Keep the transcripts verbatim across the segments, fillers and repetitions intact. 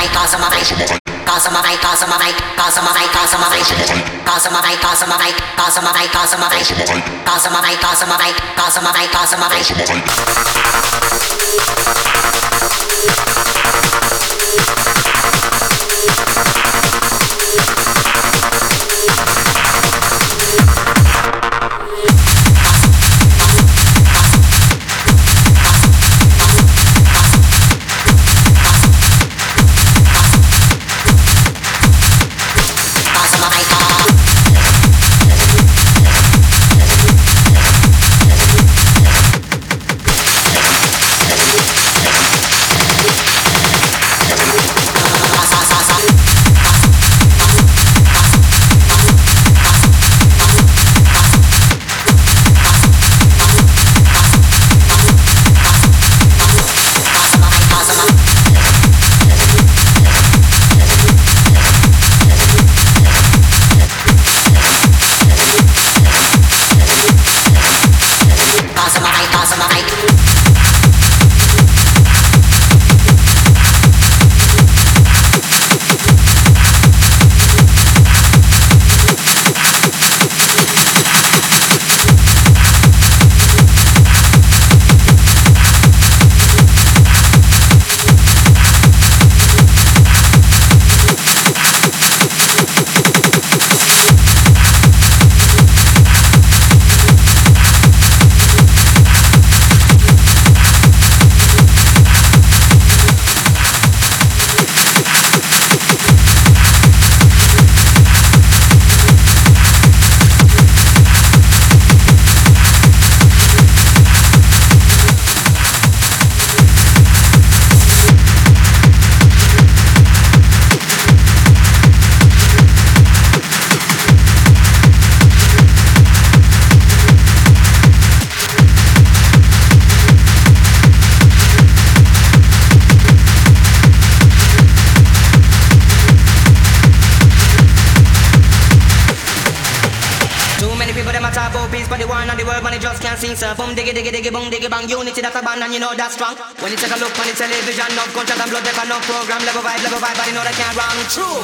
Boom diggy diggy diggy boom diggy bang. Unity that's a band and you know that's strong. When you take a look on the television, no contract and blood, no program, level vibe, level vibe, but you know that can't run true.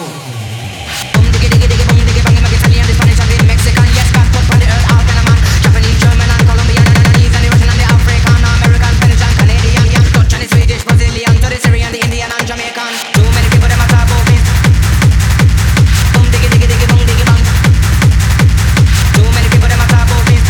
Boom diggy diggy diggy boom diggy bang. Make Italian, the Spanish and the Mexican, yes, got put on the earth, all kind of man. Japanese, German and Colombian and Chinese and the Russian and the African, American, Spanish and Canadian, yeah, Dutch and the Swedish, Brazilian, to the Syrian, the Indian and Jamaican. Too many people them a talk about this. Boom diggy diggy diggy boom diggy bang. Too many people them a talk about this.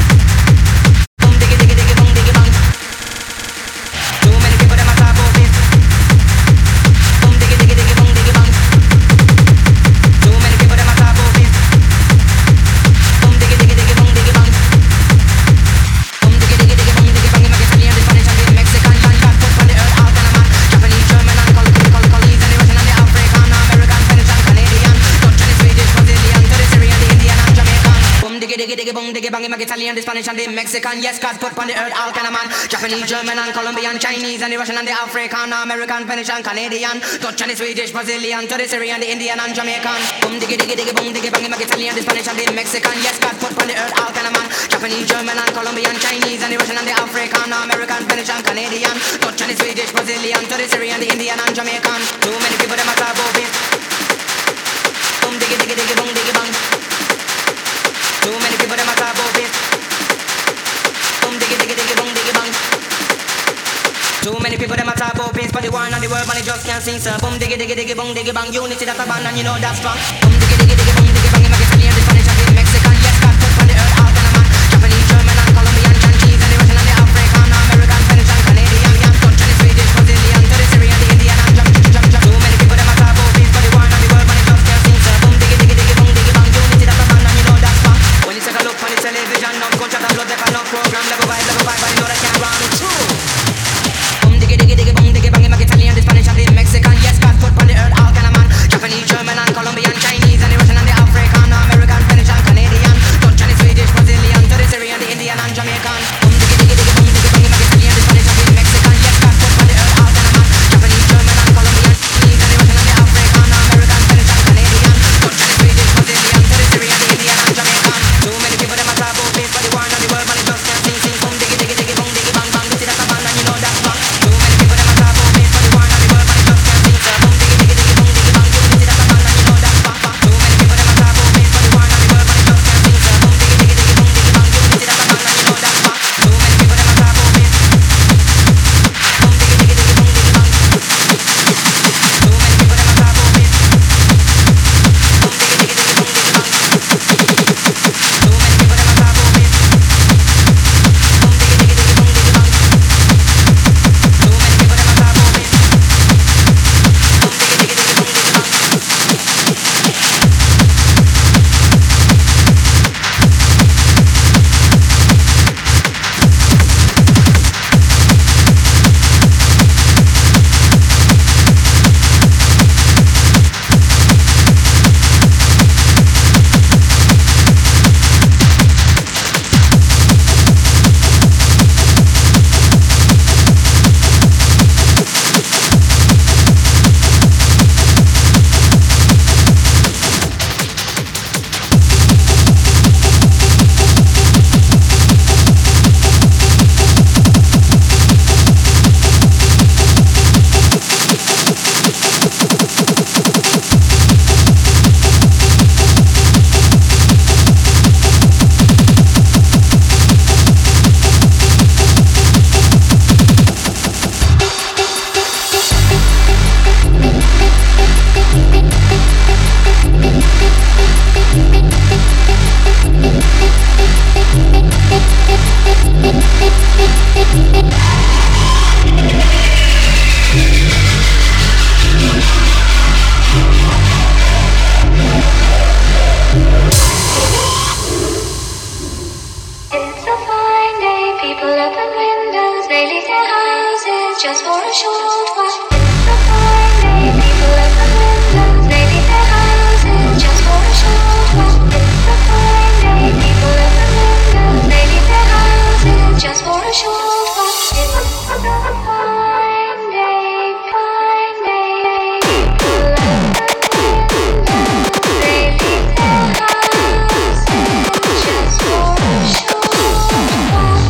Italian, the Spanish and the Mexican, yes, God put on the earth all kind of man. Japanese, German and Colombian, Chinese and the Russian and the African, American, Spanish and Canadian, Dutch and the Swedish, Brazilian, to the Syrian, the Indian and Jamaican. Boom diggy diggy diggy boom diggy bang, Italian, the Spanish and the Mexican, yes, God put on the earth all kind of man. Japanese, German and Colombian, Chinese and the Russian and the African, American, Spanish and Canadian, Dutch and the Swedish, Brazilian, to the Syrian, the Indian and Jamaican. Too many people them a talk about this. Boom diggy diggy diggy boom diggy bang. Too many people them a talk about this. Too many people them a talk about peace, but the war and the world, man, they just can't see, sir. Boom diggy diggy diggy boom diggy bang. Unity that's a band and you know that's strong. Boom diggy diggy diggy boom diggy bang. Make Italian, the Spanish and the Mexican, yes, God put on the earth all kind of man. Japanese, German and Colombian, Chinese and the Russian and the African, American, Spanish and Canadian, yeah, Dutch and the Swedish, Brazilian, to the Syrian, the Indian and Jam Jam Jam. Too many people them a talk about peace, but the war and the world, man, they just can't see, sir. Boom diggy diggy diggy boom diggy bang. Unity that's a band and you know that's strong. When you take a look on the television, no contract and blood, no program, level vibe, level vibe, but you know that can't run true. Diggy diggy diggy boom diggy bang. Make Italian, the Spanish and the Mexican, yes, God put on the earth all kind of man. Japanese, German and Colombian, Chinese and the Russian and the African, just for a short while. Maybe people left the windows, maybe their houses, just for a short while. Maybe people left the windows, maybe their houses, just for a short while. Fine day, fine day. People left the windows, maybe their houses, just for a short while.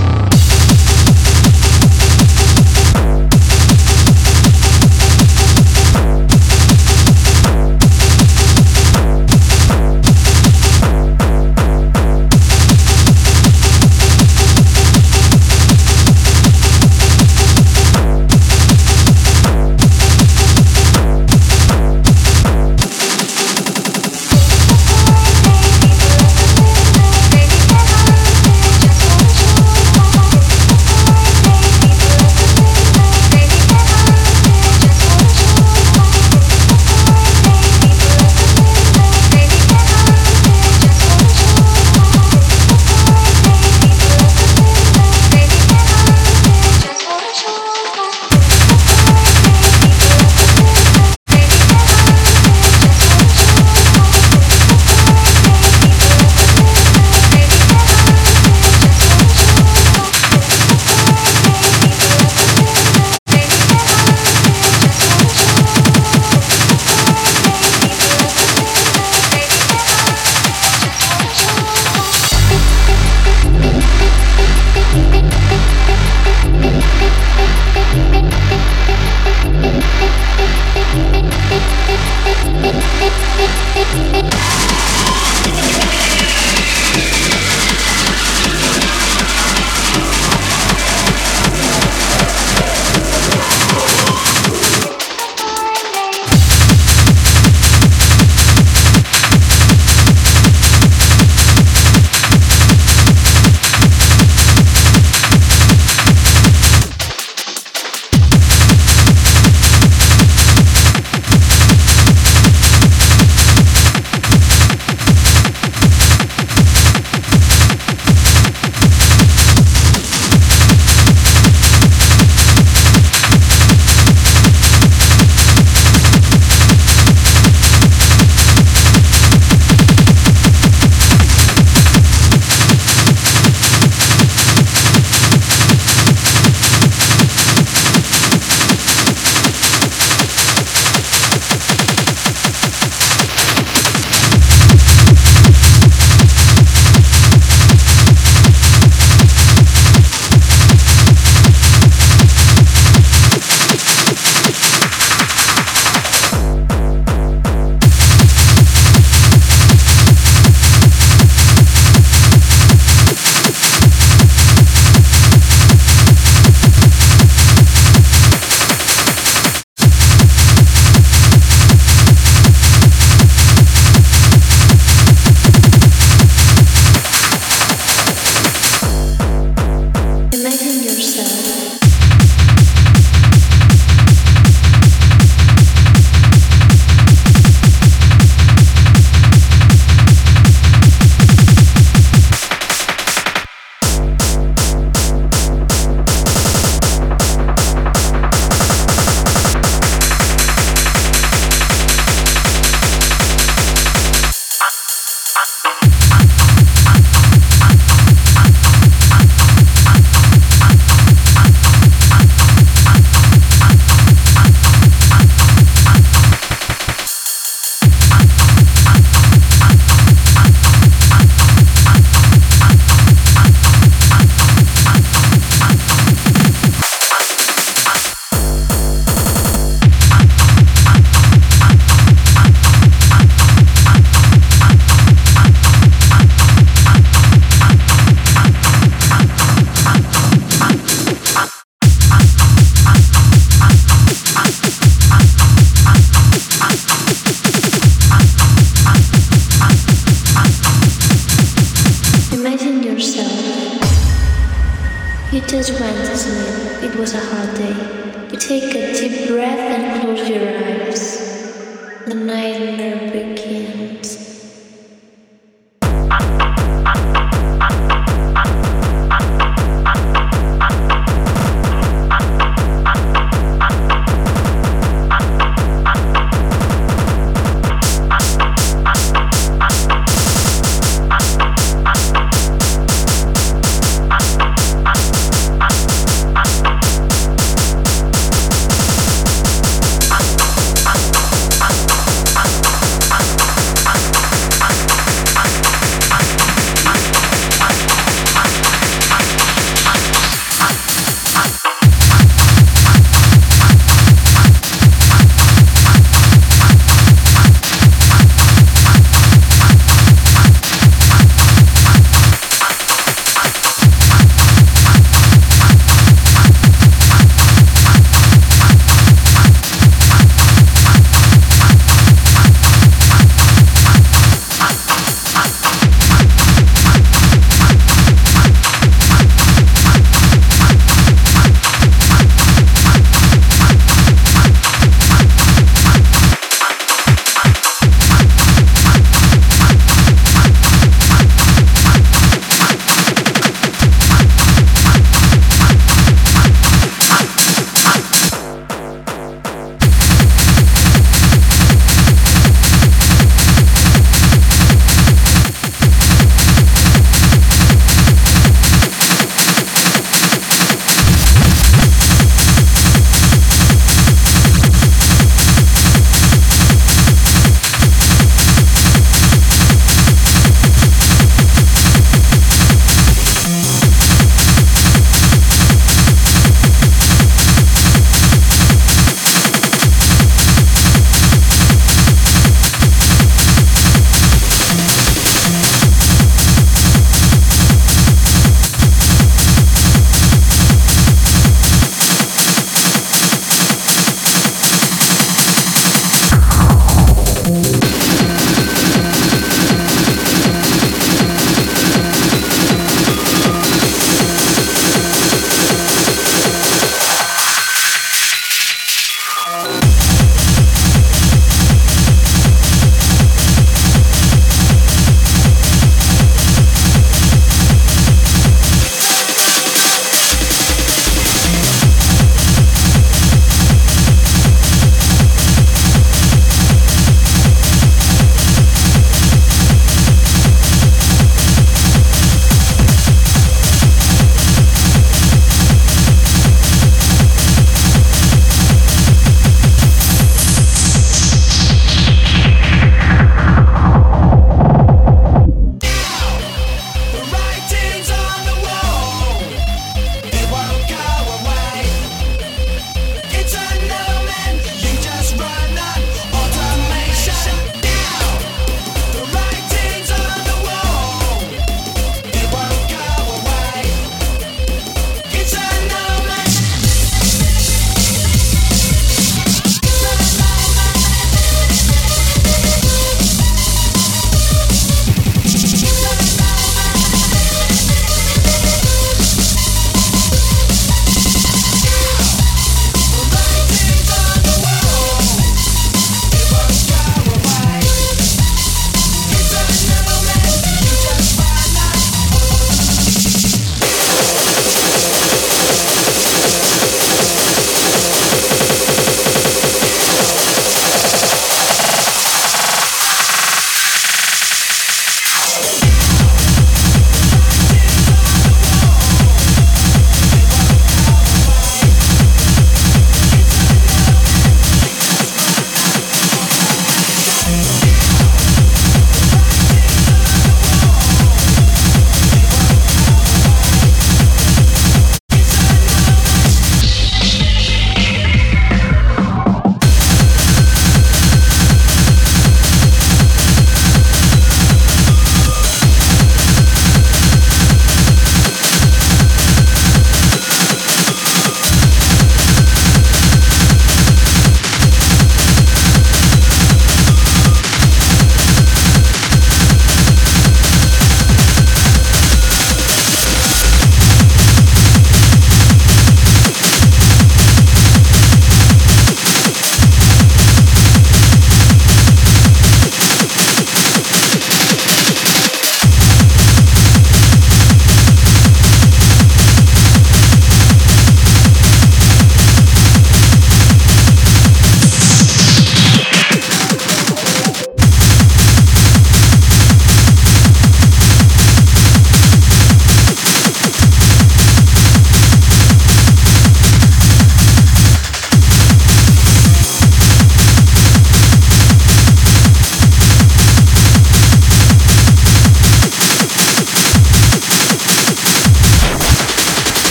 You just went to sleep. It was a hard day. You take a deep breath and close your eyes. The nightmare begins. We'll be right back.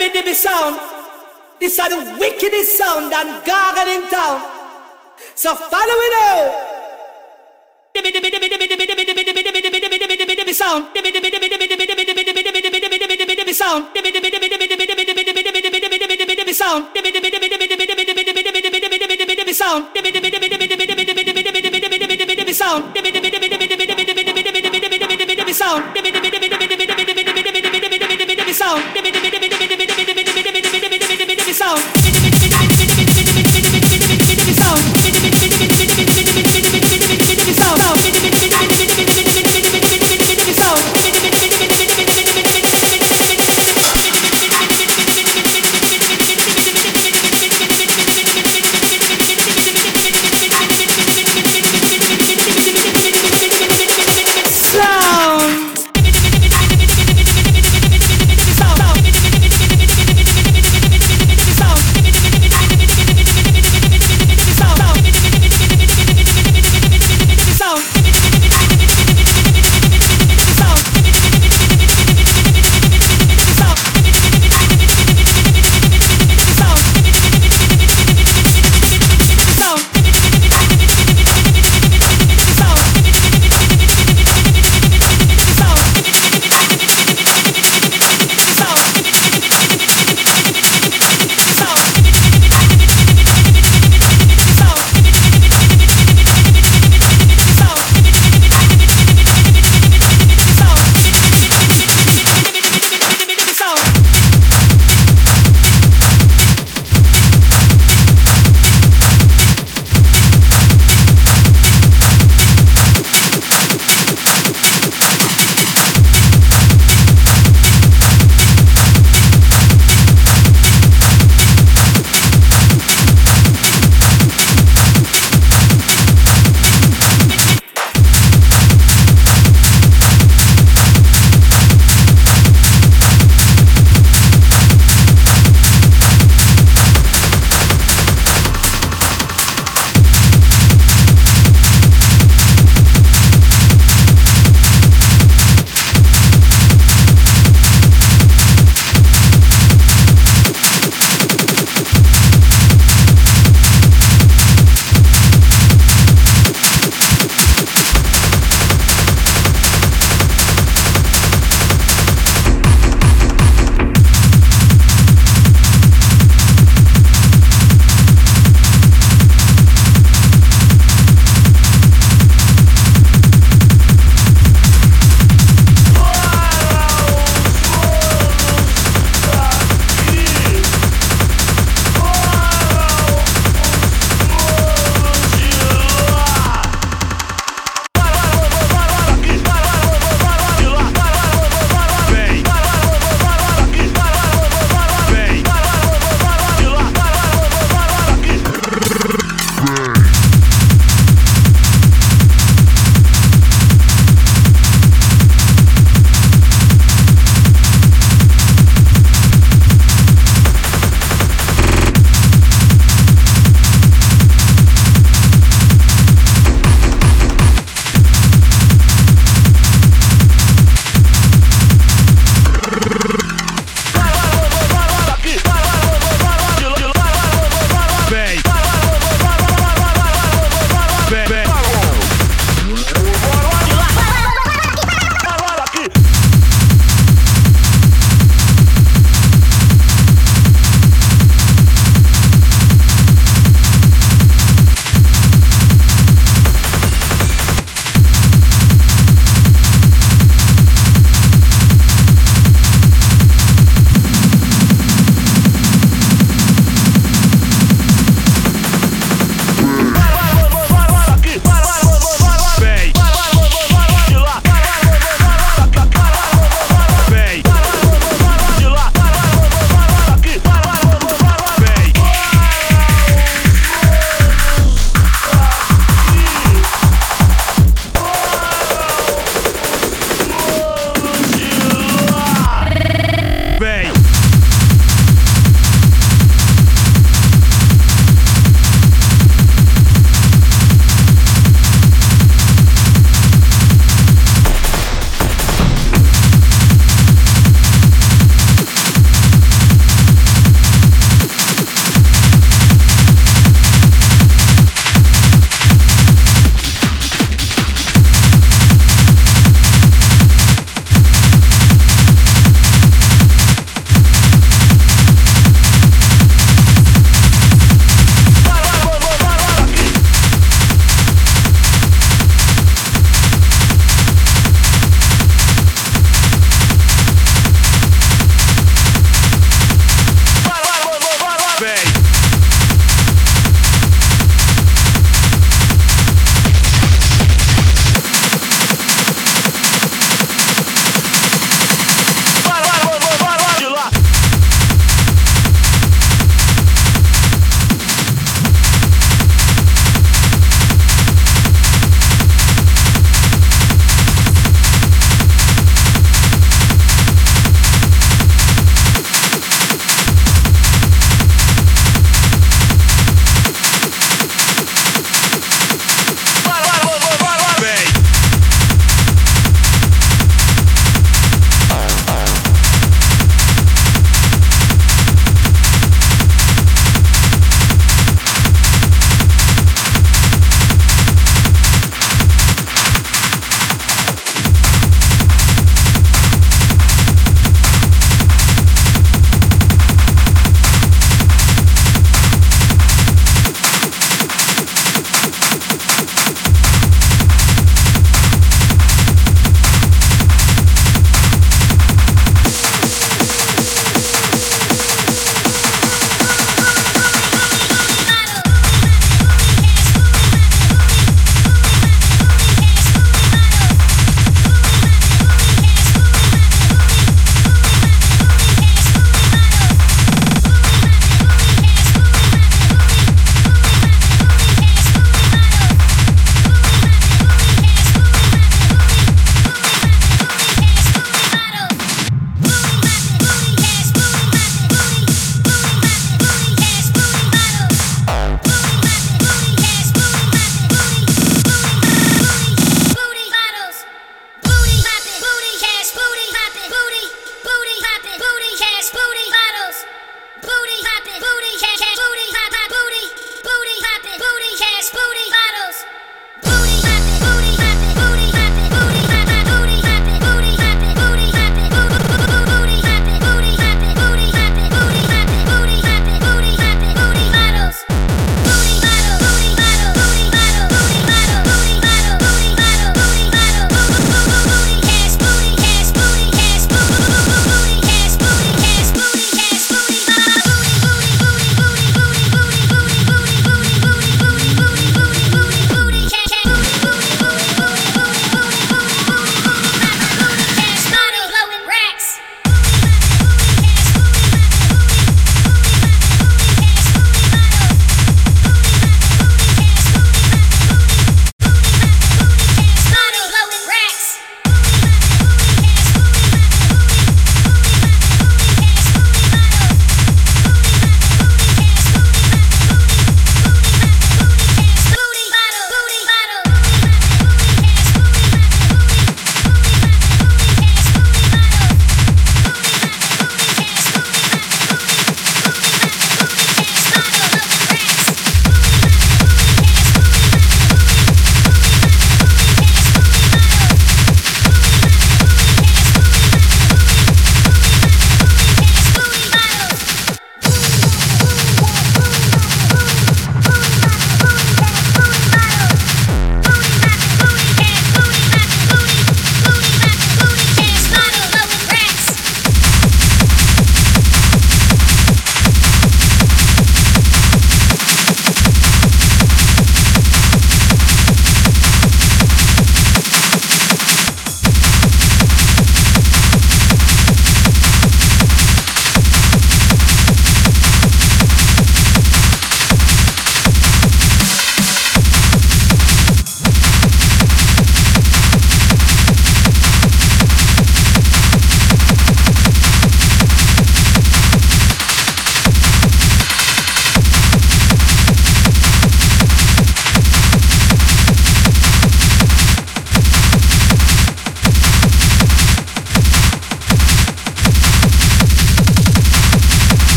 dibby dibby sound. This are the wickedest sound and gargle in town. So follow it out. Dibby dibby dibby dibby dibby dibby dibby dibby dibby dibby dibby dibby dibby sound. Dibby dibby dibby dibby dibby dibby dibby dibby dibby dibby dibby dibby dibby sound. Dibby dibby dibby dibby dibby dibby dibby dibby dibby dibby dibby dibby dibby sound. Dibby dibby dibby dibby dibby dibby dibby dibby dibby dibby dibby dibby dibby sound. Dibby dibby dibby dibby dibby dibby dibby dibby dibby dibby dibby dibby dibby sound. Dibby dibby dibby dibby dibby dibby dibby dibby dibby dibby dibby dibby dibby sound. Dibby dibby dibby dibby dibby dibby dibby dibby dibby dibby dibby dibby sound. Dibby dibby dibby dibby dibby dibby dibby dibby dibby dibby dibby dibby sound. Dibby dibby dibby dibby dibby dibby dibby dibby dibby dibby sound. Dibby dibby dibby dibby dibby dibby dibby dibby dibby dibby sound. Dibby dibby dibby dibby dibby dibby dibby dibby dibby dibby sound. Dibby dibby dibby dibby dibby dibby dibby sound.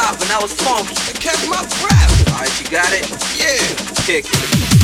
stop and that was funky. It kept my breath. Alright, you got it? Yeah. Kick it.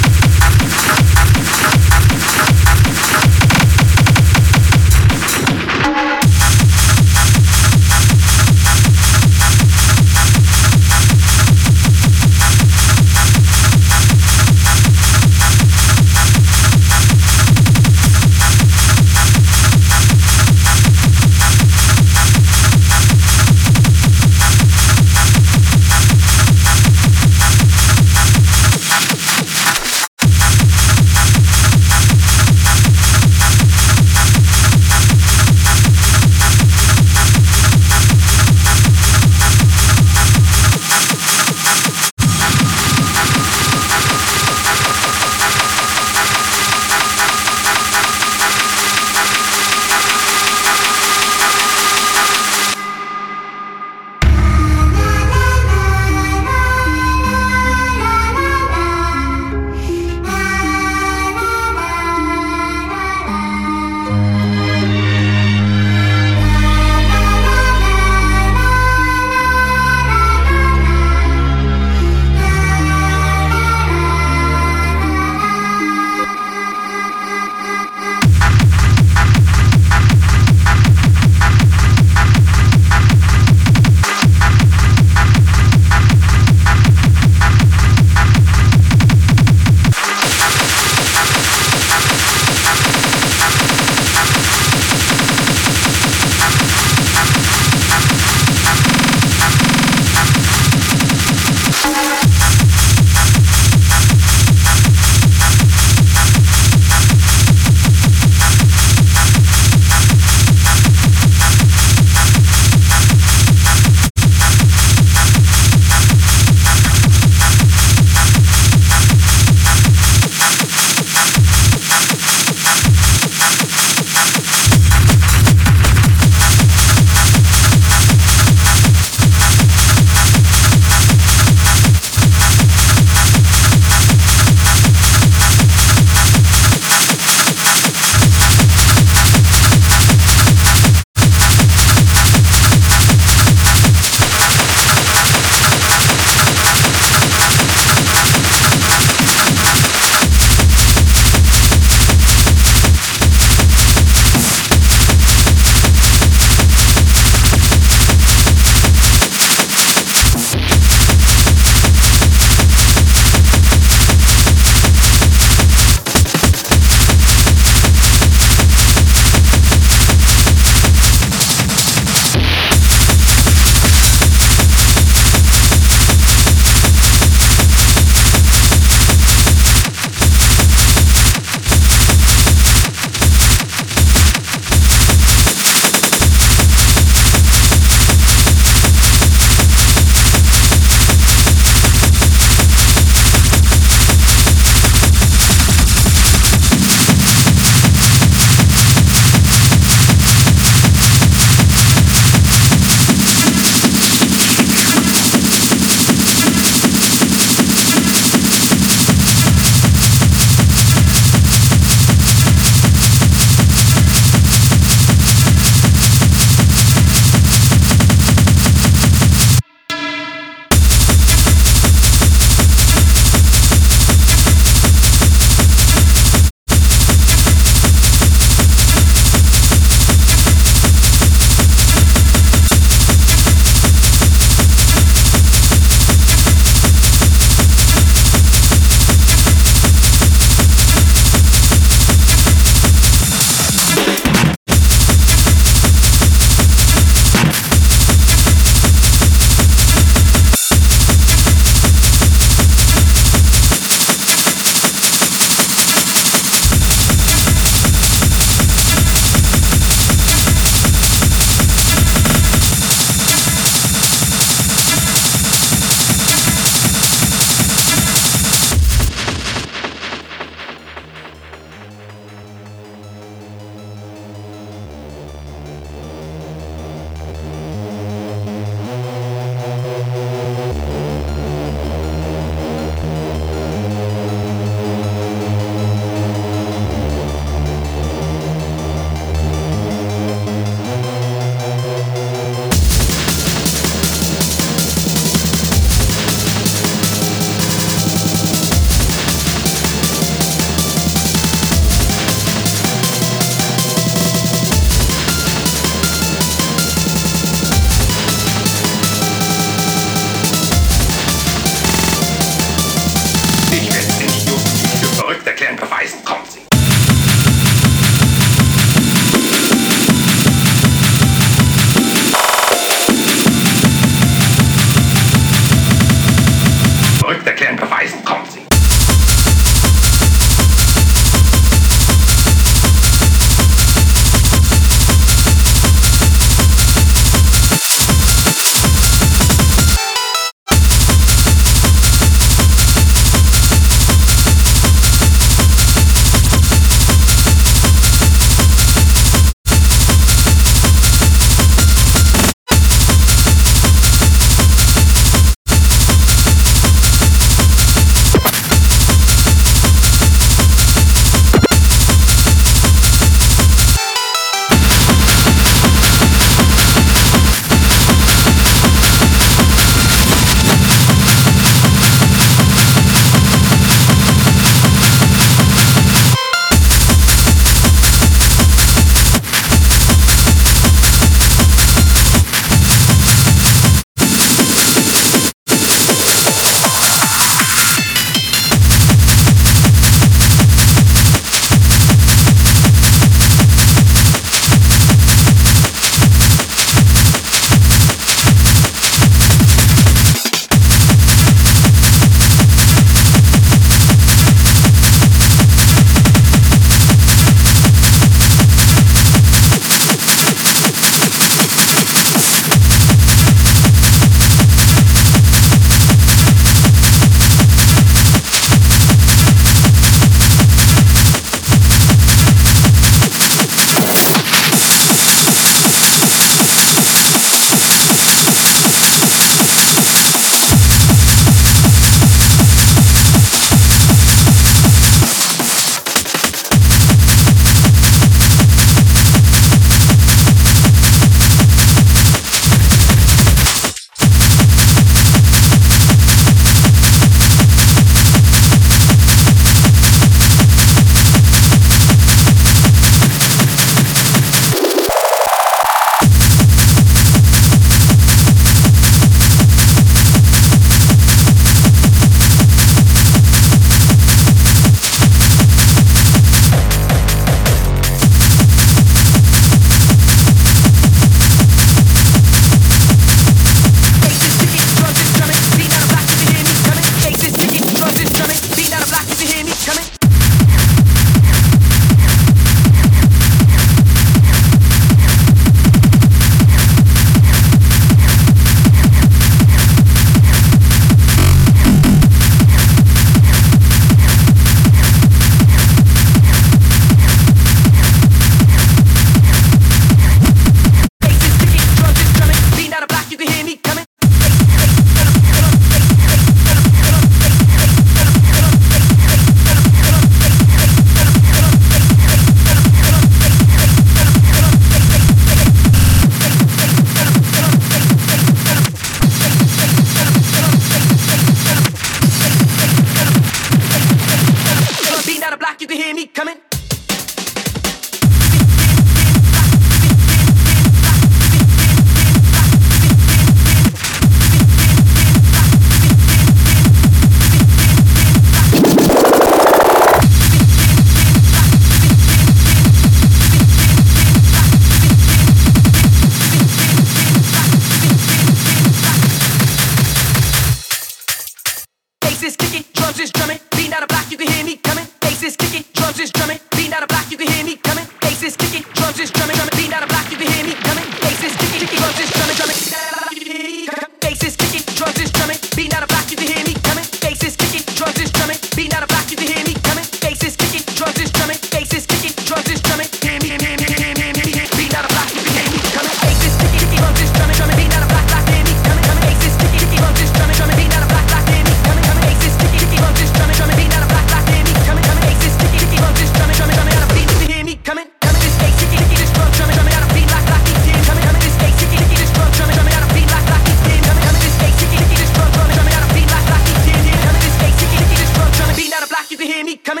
Bass is kicking, drums is drumming, beat out of block, you can hear me coming. Bass is kicking, drums is drumming, beat out of block, you can hear me coming. Bass is kicking, drums is drumming, drumming, beat out of block, you can hear me coming. Bass is kicking, drums is drumming, drumming, bass is kicking, drums is drumming, beat out of block, you can hear me coming. Bass is kicking, drums is drumming, beat out of block, you can hear me coming. Bass is kicking, drums is drumming, bass is kicking, drums is drumming, hear me, hear me, hear me, hear me, hear me, beat out of block, you can hear me coming. Bass is kicking, drums is drumming, drumming, beat out of block, block, hear me coming, coming. Bass is kicking, drums is drumming, drumming, beat out of block, block, hear me coming, coming. Bass is kicking, drums is drumming, drumming, beat out of block, block, hear me coming, coming. Bass is kicking, drums is drumming, drumming, drumming, out of beat, you can hear me coming, coming. This bass kicking, this drum drumming, drumming, out of beat, lock, lock, beat, hear coming, coming. This bass kicking, this drum drumming, drumming, out of beat, lock, lock, beat, hear coming, coming. This bass kicking, this drum drumming, drumming, out of beat, lock, lock, beat, hear coming. This bass kicking, this drum drumming, beat out of block, you can hear me coming.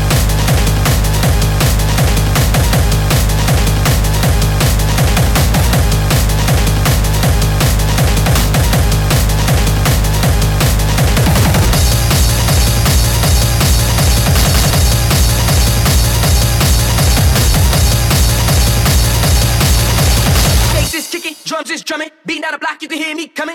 Drums is drumming, beating out a block, you can hear me coming.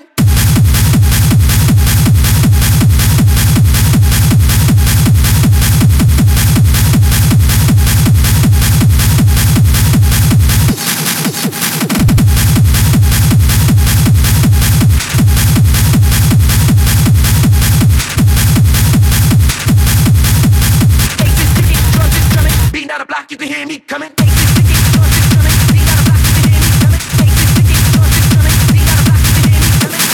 Bass is kicking, drums is drumming, beating out a block, you can hear me coming. Bass is kicking, drums is drumming, beating out a block, you can hear me coming. Bass is kicking, drums is drumming, beating out a block, you can hear me coming.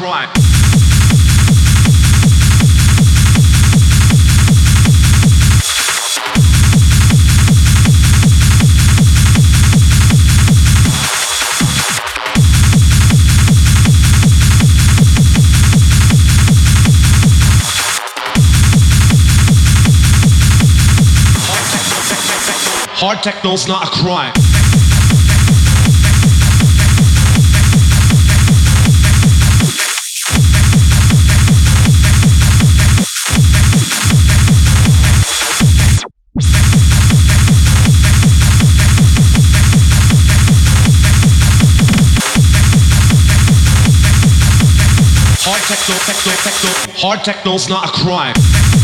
crime. Hard techno's not a crime. Hard techno, techno, techno. Hard techno's not a crime.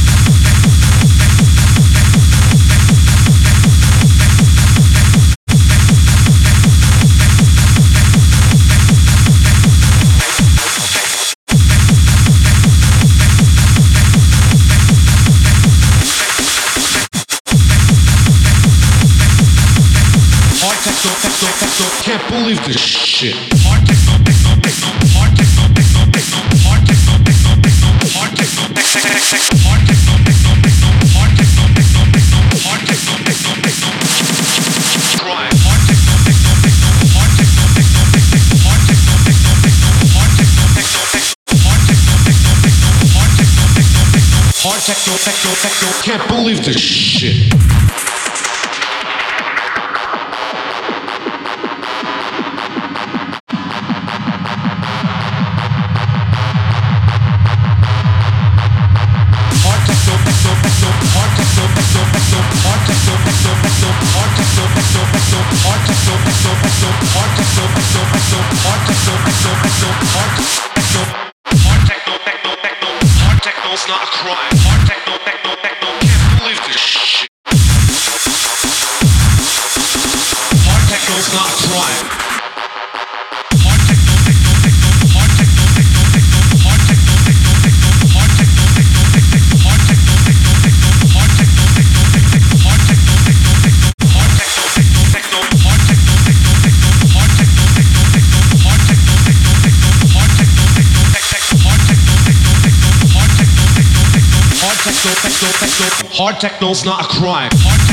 Techno, techno, techno, can't believe this shit. Hard techno, techno, techno, hard techno, techno, techno, hard techno, techno, techno, hard techno, techno, techno, hard techno, techno, techno, hard techno, techno, techno, hard techno, techno, techno, crime. Hard techno, techno, techno, hard techno, techno, techno, hard techno, techno, techno, hard techno, techno, techno, hard techno, techno, techno, hard techno, techno, techno, hard techno, techno, techno, can't believe this shit. Not a crime. Hard techno, techno, techno. Can't believe this shit. Hard techno's not a crime. Hard techno, techno, techno. Hard techno, techno, techno. Hard techno, techno, techno. Hard techno, techno, techno. Hard techno, techno, techno. Hard techno, techno, techno. Hard techno, techno, techno. Hard techno, techno, techno. Hard techno, techno, techno. Hard techno, techno, techno. Hard techno, techno, techno. Hard techno, techno, techno. Hard techno, techno, techno. Hard techno, techno, techno. Hard techno, techno, techno. Hard techno's not a crime. Hard